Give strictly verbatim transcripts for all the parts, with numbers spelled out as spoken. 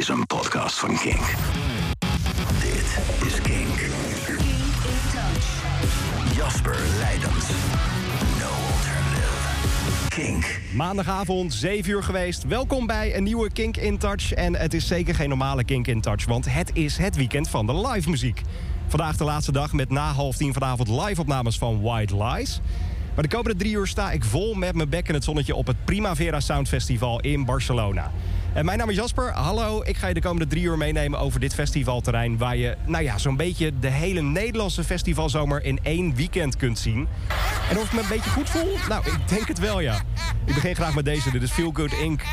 is een podcast van Kink. Dit is Kink. Kink in Touch. Jasper Leidens. No alternative. Kink. Maandagavond, zeven uur geweest. Welkom bij een nieuwe Kink in Touch. En het is zeker geen normale Kink in Touch, want het is het weekend van de live muziek. Vandaag de laatste dag met na half tien vanavond live opnames van White Lies. Maar de komende drie uur sta ik vol met mijn bek in het zonnetje op het Primavera Sound Festival in Barcelona. En mijn naam is Jasper. Hallo, ik ga je de komende drie uur meenemen over dit festivalterrein, waar je, nou ja, zo'n beetje de hele Nederlandse festivalzomer in één weekend kunt zien. En of ik me een beetje goed voel? Nou, ik denk het wel, ja. Ik begin graag met deze. Dit is Feel Good Incorporated.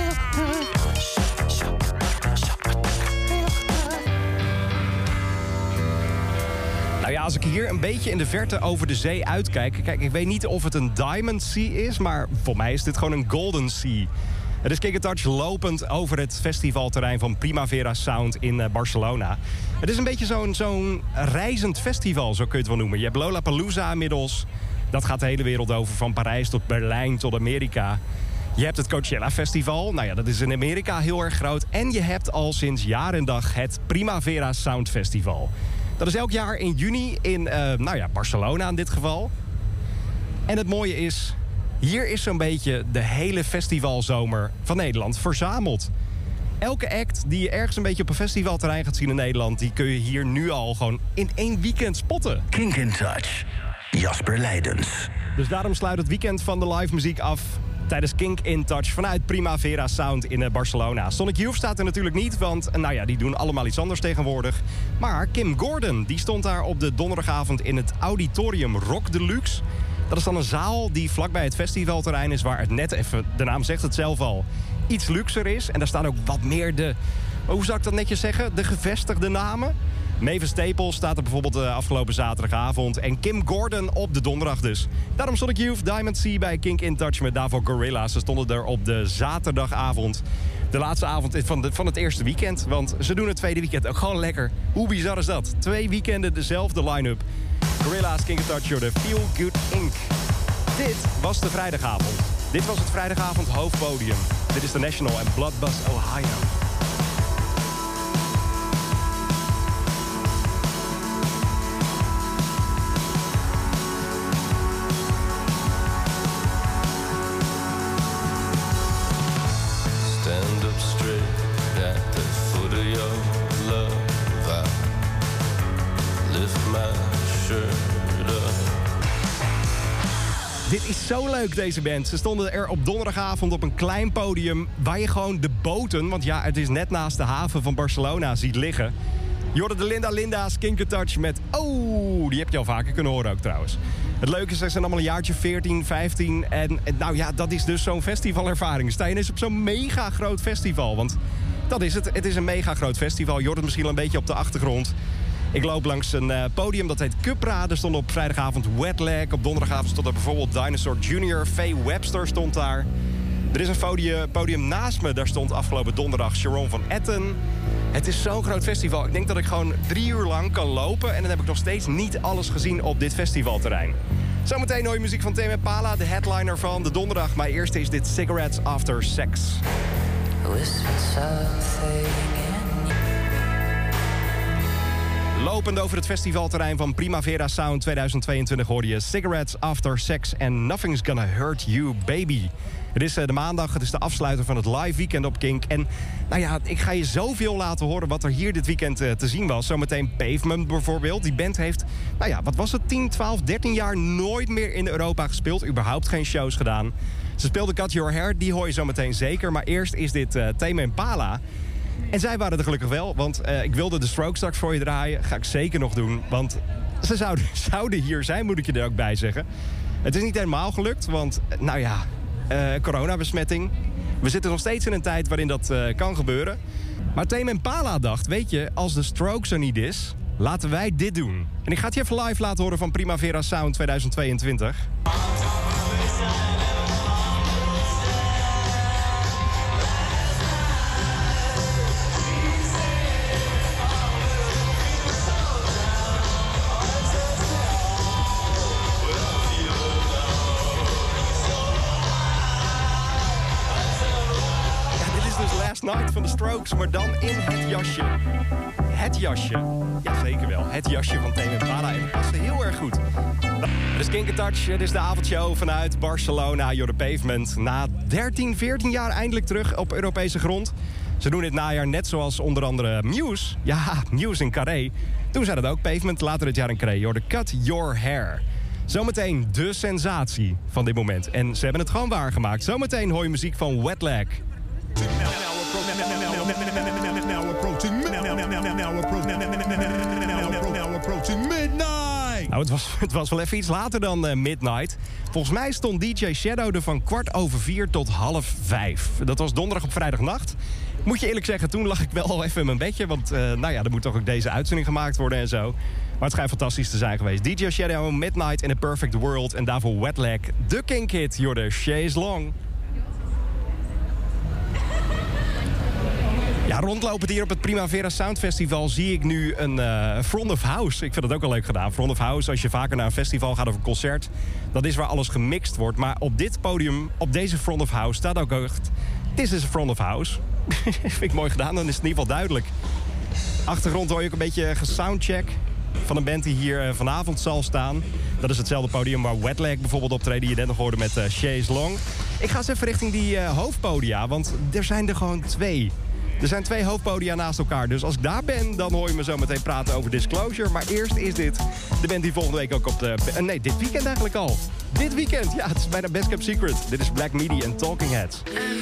Nou ja, als ik hier een beetje in de verte over de zee uitkijk... Kijk, ik weet niet of het een Diamond Sea is, maar voor mij is dit gewoon een Golden Sea. Het is Kink in Touch lopend over het festivalterrein van Primavera Sound in uh, Barcelona. Het is een beetje zo'n zo'n reizend festival, zo kun je het wel noemen. Je hebt Lollapalooza inmiddels. Dat gaat de hele wereld over, van Parijs tot Berlijn tot Amerika. Je hebt het Coachella Festival. Nou ja, dat is in Amerika heel erg groot. En je hebt al sinds jaar en dag het Primavera Sound Festival. Dat is elk jaar in juni in uh, nou ja, Barcelona in dit geval. En het mooie is, hier is zo'n beetje de hele festivalzomer van Nederland verzameld. Elke act die je ergens een beetje op een festivalterrein gaat zien in Nederland, die kun je hier nu al gewoon in één weekend spotten. Kink in Touch. Jasper Leidens. Dus daarom sluit het weekend van de live muziek af tijdens Kink in Touch vanuit Primavera Sound in Barcelona. Sonic Youth staat er natuurlijk niet, want nou ja, die doen allemaal iets anders tegenwoordig. Maar Kim Gordon, die stond daar op de donderdagavond in het Auditorium Rock Deluxe. Dat is dan een zaal die vlakbij het festivalterrein is, waar het net even, de naam zegt het zelf al, iets luxer is. En daar staan ook wat meer de, hoe zou ik dat netjes zeggen, de gevestigde namen. Mavis Staples staat er bijvoorbeeld de afgelopen zaterdagavond. En Kim Gordon op de donderdag dus. Daarom Sonic Youth, Diamond Sea bij Kink in Touch met daarvoor Gorillaz. Ze stonden er op de zaterdagavond. De laatste avond van, de, van het eerste weekend. Want ze doen het tweede weekend ook gewoon lekker. Hoe bizar is dat? Twee weekenden dezelfde line-up. Gorillaz, Kink in Touch, de Feel Good Incorporated. Dit was de vrijdagavond. Dit was het vrijdagavond hoofdpodium. Dit is The National en Bloodbus Ohio. Dit is zo leuk, deze band. Ze stonden er op donderdagavond op een klein podium waar je gewoon de boten, want ja, het is net naast de haven van Barcelona, ziet liggen. Je hoorde de Linda Linda's Kink in Touch met, oh, die heb je al vaker kunnen horen ook trouwens. Het leuke is, ze zijn allemaal een jaartje veertien, vijftien en, en nou ja, dat is dus zo'n festivalervaring. Sta je ineens op zo'n mega groot festival, want dat is het. Het is een mega groot festival. Je hoort het misschien wel een beetje op de achtergrond. Ik loop langs een uh, podium, dat heet Cupra. Er stond op vrijdagavond Wetlag. Op donderdagavond stond er bijvoorbeeld Dinosaur junior Faye Webster stond daar. Er is een podium, podium naast me. Daar stond afgelopen donderdag Sharon van Etten. Het is zo'n groot festival. Ik denk dat ik gewoon drie uur lang kan lopen. En dan heb ik nog steeds niet alles gezien op dit festivalterrein. Zometeen hoor je muziek van Tame Impala, de headliner van de donderdag. Maar eerst is dit Cigarettes After Sex. Lopend over het festivalterrein van Primavera Sound tweeduizend tweeëntwintig hoorde je Cigarettes After Sex and Nothing's Gonna Hurt You Baby. Het is de maandag, het is de afsluiter van het live weekend op Kink. En nou ja, ik ga je zoveel laten horen wat er hier dit weekend uh, te zien was. Zometeen Pavement bijvoorbeeld. Die band heeft, nou ja, wat was het, tien, twaalf, dertien jaar nooit meer in Europa gespeeld. Überhaupt geen shows gedaan. Ze speelden Cut Your Hair, die hoor je zometeen zeker. Maar eerst is dit uh, Tame Impala. En zij waren er gelukkig wel, want uh, ik wilde de Strokes straks voor je draaien. Ga ik zeker nog doen, want ze zouden, zouden hier zijn, moet ik je er ook bij zeggen. Het is niet helemaal gelukt, want, nou ja, uh, coronabesmetting. We zitten nog steeds in een tijd waarin dat uh, kan gebeuren. Maar Tame Impala dacht, weet je, als de Strokes er niet is, laten wij dit doen. En ik ga het je even live laten horen van Primavera Sound tweeduizend tweeëntwintig. Night van The Strokes, maar dan in het jasje. Het jasje. Ja, zeker wel. Het jasje van Tame Impala. En dat past heel erg goed. Het is Kink in Touch. Het is de avondshow vanuit Barcelona. You're the Pavement. Na dertien, veertien jaar eindelijk terug op Europese grond. Ze doen dit najaar net zoals onder andere Muse. Ja, Muse in Carré. Toen zei dat ook Pavement. Later dit jaar in Carré. You're the Cut Your Hair. Zometeen de sensatie van dit moment. En ze hebben het gewoon waargemaakt. Zometeen hoor je muziek van Wet Leg. Nou, het was, het was wel even iets later dan uh, midnight. Volgens mij stond D J Shadow er van kwart over vier tot half vijf. Dat was donderdag op vrijdagnacht. Moet je eerlijk zeggen, toen lag ik wel al even in mijn bedje. Want uh, nou ja, er moet toch ook deze uitzending gemaakt worden en zo. Maar het schijnt fantastisch te zijn geweest. D J Shadow, Midnight in a Perfect World. En daarvoor Wet Leg, de Kink Hit, Jorde Chaise Long. Ja, rondlopend hier op het Primavera Sound Festival zie ik nu een uh, Front of House. Ik vind dat ook wel leuk gedaan. Front of House, als je vaker naar een festival gaat of een concert, dat is waar alles gemixt wordt. Maar op dit podium, op deze Front of House, staat ook echt... This is a Front of House. Vind ik mooi gedaan, dan is het in ieder geval duidelijk. Achtergrond hoor je ook een beetje gesoundcheck van een band die hier uh, vanavond zal staan. Dat is hetzelfde podium waar Wet Leg bijvoorbeeld optreedt, die je net nog hoorde met uh, Chaise Long. Ik ga eens even richting die uh, hoofdpodia, want er zijn er gewoon twee. Er zijn twee hoofdpodia naast elkaar. Dus als ik daar ben, dan hoor je me zo meteen praten over Disclosure. Maar eerst is dit de band die volgende week ook op de... Uh, nee, dit weekend eigenlijk al. Dit weekend, ja, het is bijna Best Kept Secret. Dit is Black Midi en Talking Heads.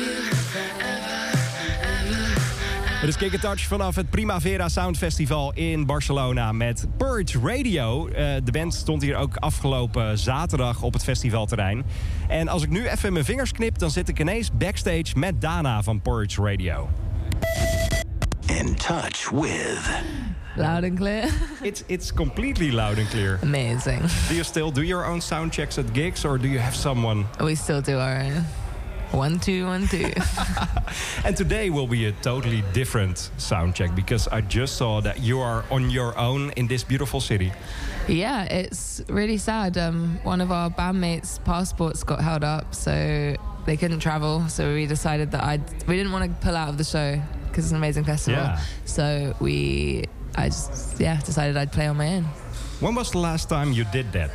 Het is Kink in Touch vanaf het Primavera Sound Festival in Barcelona met Purge Radio. Uh, de band stond hier ook afgelopen zaterdag op het festivalterrein. En als ik nu even mijn vingers knip, dan zit ik ineens backstage met Dana van Purge Radio. In touch with... Loud and clear. It's it's completely loud and clear. Amazing. Do you still do your own sound checks at gigs, or do you have someone? We still do our own. One, two, one, two. And today will be a totally different sound check, because I just saw that you are on your own in this beautiful city. Yeah, it's really sad. Um, one of our bandmates' passports got held up, so they couldn't travel. So we decided that I'd... We didn't want to pull out of the show, because it's an amazing festival. Yeah. So we... I just, yeah, decided I'd play on my own. When was the last time you did that?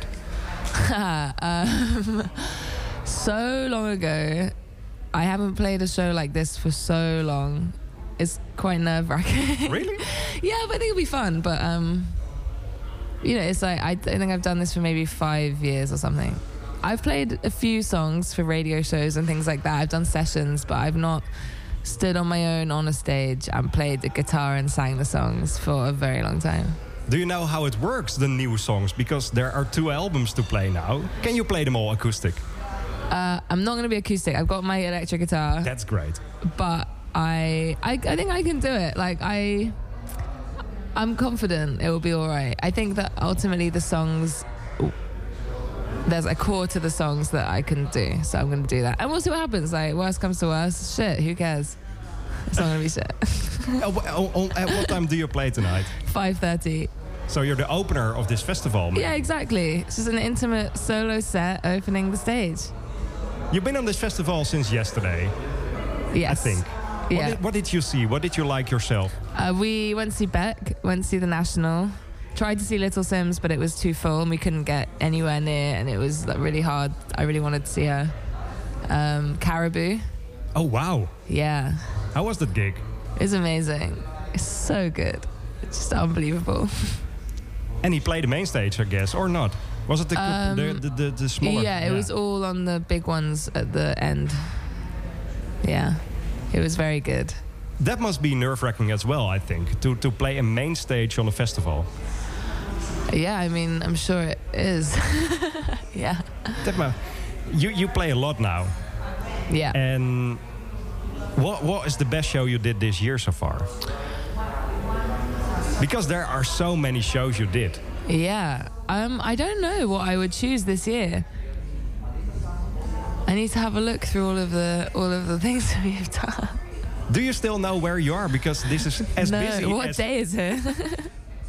um, so long ago. I haven't played a show like this for so long. It's quite nerve-wracking. Really? Yeah, but I think it'll be fun. But, um, you know, it's like, I, I think I've done this for maybe five years or something. I've played a few songs for radio shows and things like that. I've done sessions, but I've not stood on my own on a stage and played the guitar and sang the songs for a very long time. Do you know how it works, the new songs? Because there are two albums to play now. Can you play them all acoustic? Uh, I'm not going to be acoustic. I've got my electric guitar. That's great. But I, I, I think I can do it. Like I, I'm confident it will be all right. I think that ultimately the songs, there's a core to the songs that I can do. So I'm going to do that, and we'll see what happens. Like worst comes to worst, shit. Who cares? It's not going to be shit. oh, oh, oh, at what time do you play tonight? five thirty. So you're the opener of this festival. Man. Yeah, exactly. It's just an intimate solo set opening the stage. You've been on this festival since yesterday. Yes. I think. Yeah. What did, what did you see? What did you like yourself? Uh, we went to see Beck, went to see The National, tried to see Little Sims, but it was too full and we couldn't get anywhere near, and it was like, really hard. I really wanted to see her. Um, Caribou. Oh, wow. Yeah. How was that gig? It's amazing. It's so good. It's just unbelievable. And he played the main stage, I guess, or not? Was it the Um, the, the, the, the smaller? Yeah, it yeah. was all on the big ones at the end. Yeah, it was very good. That must be nerve-wracking as well, I think, to, to play a main stage on a festival. Yeah, I mean, I'm sure it is. Yeah. Tekma, you, you play a lot now. Yeah. And what what is the best show you did this year so far? Because there are so many shows you did. Yeah. Um, I don't know what I would choose this year. I need to have a look through all of the all of the things that we've done. Do you still know where you are? Because this is as no, busy what as... day is it?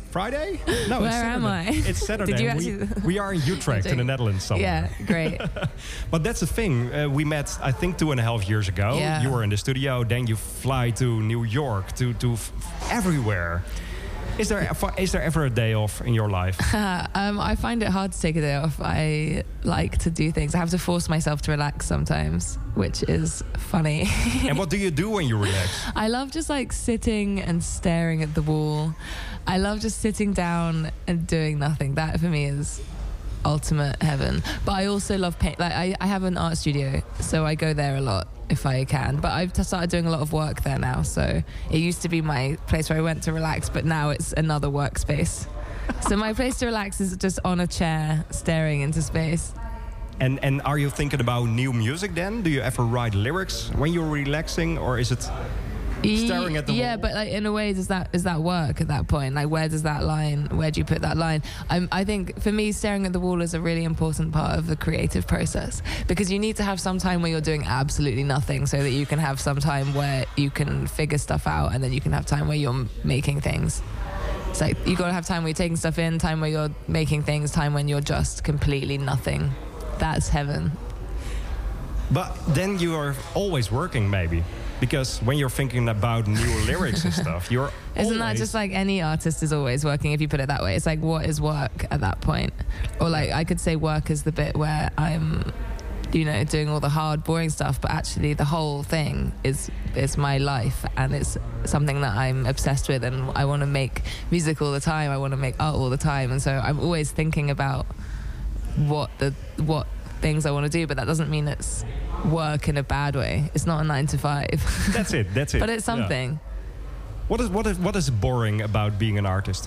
Friday? No, Where it's am Saturday. I? It's Saturday. Did you we, actually- we are in Utrecht in the Netherlands somewhere. Yeah, great. But that's the thing. Uh, we met, I think, two and a half years ago. Yeah. You were in the studio. Then you fly to New York, to, to f- everywhere. Is there is there ever a day off in your life? um, I find it hard to take a day off. I like to do things. I have to force myself to relax sometimes, which is funny. And what do you do when you relax? I love just like sitting and staring at the wall. I love just sitting down and doing nothing. That for me is ultimate heaven. But I also love paint. Like I, I have an art studio, so I go there a lot if I can. But I've t- started doing a lot of work there now. So it used to be my place where I went to relax, but now it's another workspace. So my place to relax is just on a chair staring into space. And and are you thinking about new music then? Do you ever write lyrics when you're relaxing, or is it staring at the yeah, wall? but like in a way, does that is that work at that point? Like, where does that line? Where do you put that line? I'm, I think for me, staring at the wall is a really important part of the creative process, because you need to have some time where you're doing absolutely nothing, so that you can have some time where you can figure stuff out, and then you can have time where you're making things. It's like you gotta have time where you're taking stuff in, time where you're making things, time when you're just completely nothing. That's heaven. But then you are always working, maybe. Because when you're thinking about new lyrics and stuff, you're Isn't that always- just like any artist is always working, if you put it that way? It's like, what is work at that point? Or like, I could say work is the bit where I'm, you know, doing all the hard, boring stuff, but actually the whole thing is is my life, and it's something that I'm obsessed with, and I want to make music all the time. I want to make art all the time, and so I'm always thinking about what the what things I want to do, but that doesn't mean it's work in a bad way. It's not a nine to five. That's it. That's it. But it's something. Yeah. What is what is what is boring about being an artist?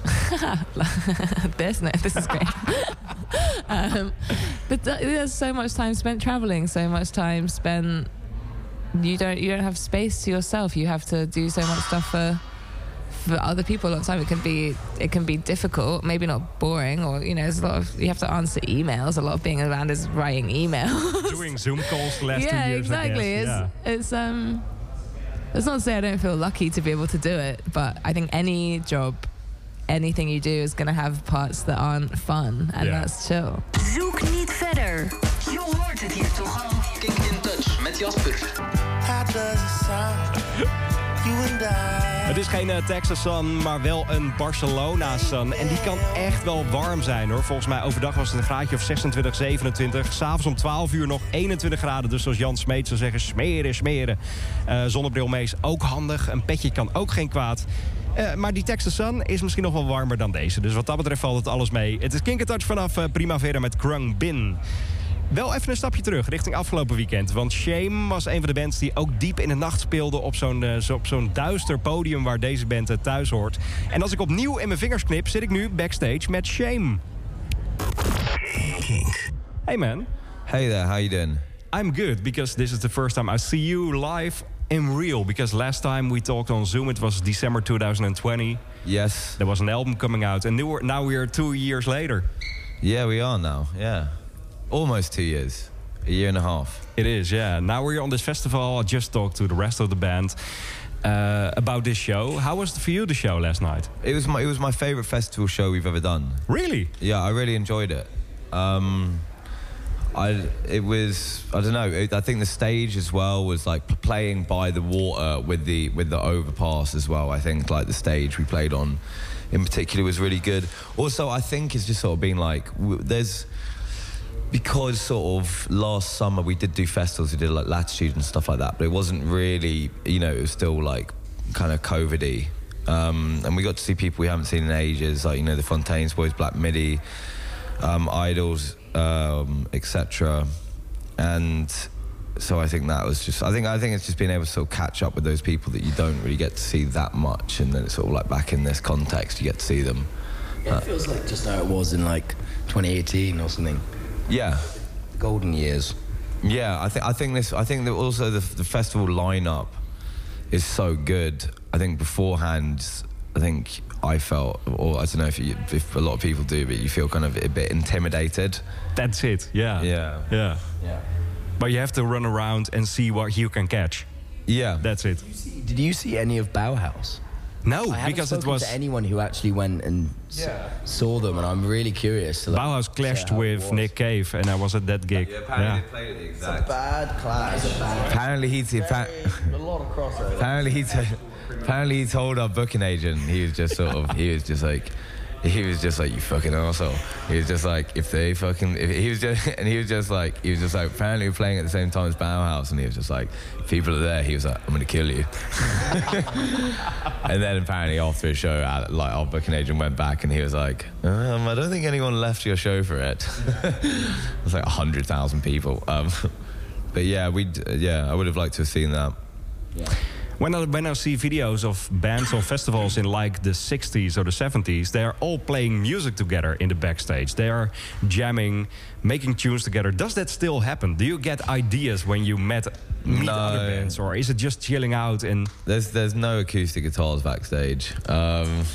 this no, this is great. um, but th- there's so much time spent traveling, so much time spent. You don't you don't have space to yourself. You have to do so much stuff for for other people all the time. It can be it can be difficult, maybe not boring, or you know, there's a lot of you have to answer emails. A lot of being a band is writing emails. Doing Zoom calls the last yeah, two years. exactly. I guess. It's Yeah. it's um. It's not to say I don't feel lucky to be able to do it, but I think any job, anything you do is going to have parts that aren't fun, and Yeah. that's chill. Zoek niet verder. Je hoort het hier toch al. Kink in Touch met Jasper. How does it sound? You and I. Het is geen uh, Texas sun, maar wel een Barcelona sun. En die kan echt wel warm zijn, hoor. Volgens mij overdag was het een graadje of zesentwintig, zevenentwintig. S'avonds om twaalf uur nog eenentwintig graden. Dus zoals Jan Smeet zou zeggen, smeren, smeren. Uh, zonnebril mee is ook handig. Een petje kan ook geen kwaad. Uh, maar die Texas sun is misschien nog wel warmer dan deze. Dus wat dat betreft valt het alles mee. Het is Kink in Touch vanaf uh, Primavera met Krung Bin. Wel even een stapje terug, richting afgelopen weekend. Want Shame was een van de bands die ook diep in de nacht speelde... op zo'n, uh, zo, op zo'n duister podium waar deze band uh, thuis hoort. En als ik opnieuw in mijn vingers knip, zit ik nu backstage met Shame. Kink. Hey man, Hey there, how you doing? I'm good because this is the first time I see you live in real. Because last time we talked on Zoom, it was December twenty twenty. Yes. There was an album coming out and now we're, now we're two years later. Yeah, we are now. Yeah. Almost two years. A year and a half. It is, yeah. Now we're on this festival. I just talked to the rest of the band uh, about this show. How was it for you, the show last night? It was my it was my favorite festival show we've ever done. Really? Yeah, I really enjoyed it. Um, I it was I don't know. It, I think the stage as well was like p- playing by the water with the with the overpass as well. I think like the stage we played on, in particular, was really good. Also, I think it's just sort of been like w- there's. Because sort of last summer we did do festivals, we did like Latitude and stuff like that, but it wasn't really, you know, it was still like kind of COVID-y. Um, and we got to see people we haven't seen in ages, like, you know, the Fontaines Boys, Black Midi, um, Idols, um, et cetera. And so I think that was just, I think I think it's just being able to sort of catch up with those people that you don't really get to see that much, and then it's sort of like back in this context, you get to see them. Yeah, it feels like just how it was in like twenty eighteen or something. Yeah. Golden years. Yeah, I think I think this. I think that also the the festival lineup is so good. I think beforehand, I think I felt, or I don't know if you, if a lot of people do, but you feel kind of a bit intimidated. That's it, yeah. Yeah. Yeah. Yeah. But you have to run around and see what you can catch. Yeah, That's it. Did you see any of Bauhaus? No, I haven't because it spoken was to anyone who actually went and s- Yeah. saw them, and I'm really curious. To, like, Bauhaus clashed how it with was. Nick Cave, and I was at that gig. Yeah, apparently Yeah. they played it the exact. Bad clash. Apparently he t- appa- A lot of crossover. apparently he t- apparently he told our booking agent, he was just sort of he was just like he was just like, you fucking arsehole. He was just like, if they fucking if he was just and he was just like he was just like apparently we're playing at the same time as Bauhaus, and he was just like, if people are there, he was like, I'm gonna kill you. And then apparently after his show, our- like our booking agent went back and he was like, um, I don't think anyone left your show for it. It was like a hundred thousand people. Um, but yeah, we yeah, I would have liked to have seen that. When I, when I see videos of bands on festivals in like the sixties or the seventies, they are all playing music together in the backstage. They are jamming, making tunes together. Does that still happen? Do you get ideas when you met meet No. other bands, or is it just chilling out and? There's there's no acoustic guitars backstage. Um,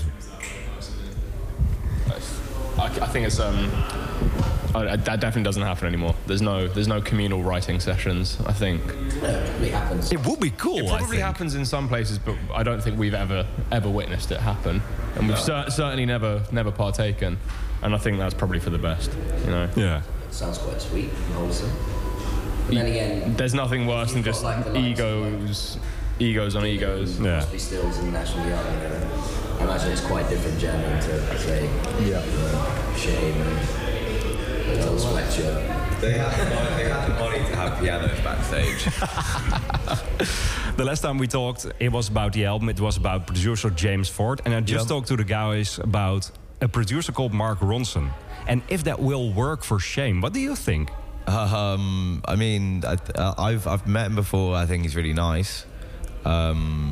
I, I think it's um, I, I- that definitely doesn't happen anymore. There's no there's no communal writing sessions. I think It happens. It would be cool. it I probably think. happens in some places, but I don't think we've ever ever witnessed it happen, and we've cer- certainly never never partaken. And I think that's probably for the best. You know, Yeah. Sounds quite sweet and wholesome. But then again, there's nothing worse than You've got, just like, the likes of, egos, egos on egos. Yeah. Crosby, Stills and National Young, you know. I imagine it's quite different jamming to, say, yeah. Shame and Little Sweatshirt. they had the money, they had the money to have pianos backstage. The last time we talked, it was about the album. It was about producer James Ford, and I just Yeah. talked to the guys about a producer called Mark Ronson, and if that will work for Shame. What do you think? Um, I mean, I, uh, I've I've met him before. I think he's really nice. Um,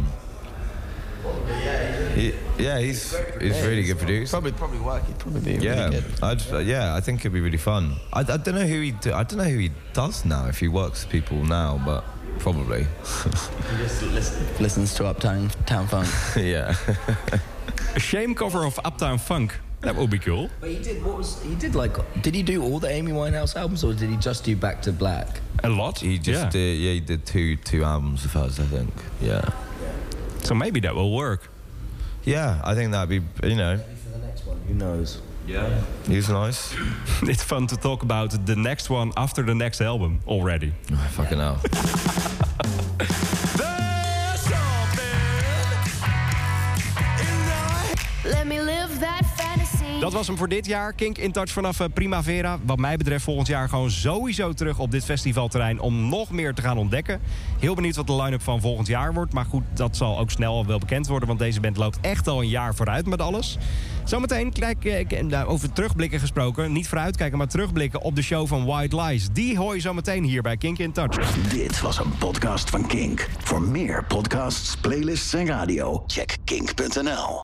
he, yeah, he's he's a really good producer. Probably, probably work. He'd probably be Yeah, really good. I'd, uh, yeah, I think it'd be really fun. I, I don't know who he do, I don't know who he does now. If he works with people now, but probably. He just listen, listens to Uptown Town Funk. Yeah. A Shame cover of Uptown Funk. That would be cool. But he did, what was, he did like, did he do all the Amy Winehouse albums, or did he just do Back to Black? A lot. He just yeah. did. Yeah, he did two two albums of hers, I think. Yeah. So maybe that will work. Yeah, I think that'd be. You know. Maybe for the next one, who knows? Yeah. He's nice. It's fun to talk about the next one after the next album already. Oh, fucking hell. Let me live that fantasy. Dat was hem voor dit jaar. Kink in Touch vanaf eh, Primavera. Wat mij betreft volgend jaar gewoon sowieso terug op dit festivalterrein om nog meer te gaan ontdekken. Heel benieuwd wat de line-up van volgend jaar wordt. Maar goed, dat zal ook snel wel bekend worden, want deze band loopt echt al een jaar vooruit met alles. Zometeen, kijk, eh, nou, over terugblikken gesproken. Niet vooruitkijken, maar terugblikken op de show van White Lies. Die hoor je zometeen hier bij Kink in Touch. Dit was een podcast van Kink. Voor meer podcasts, playlists en radio, check kink punt n l.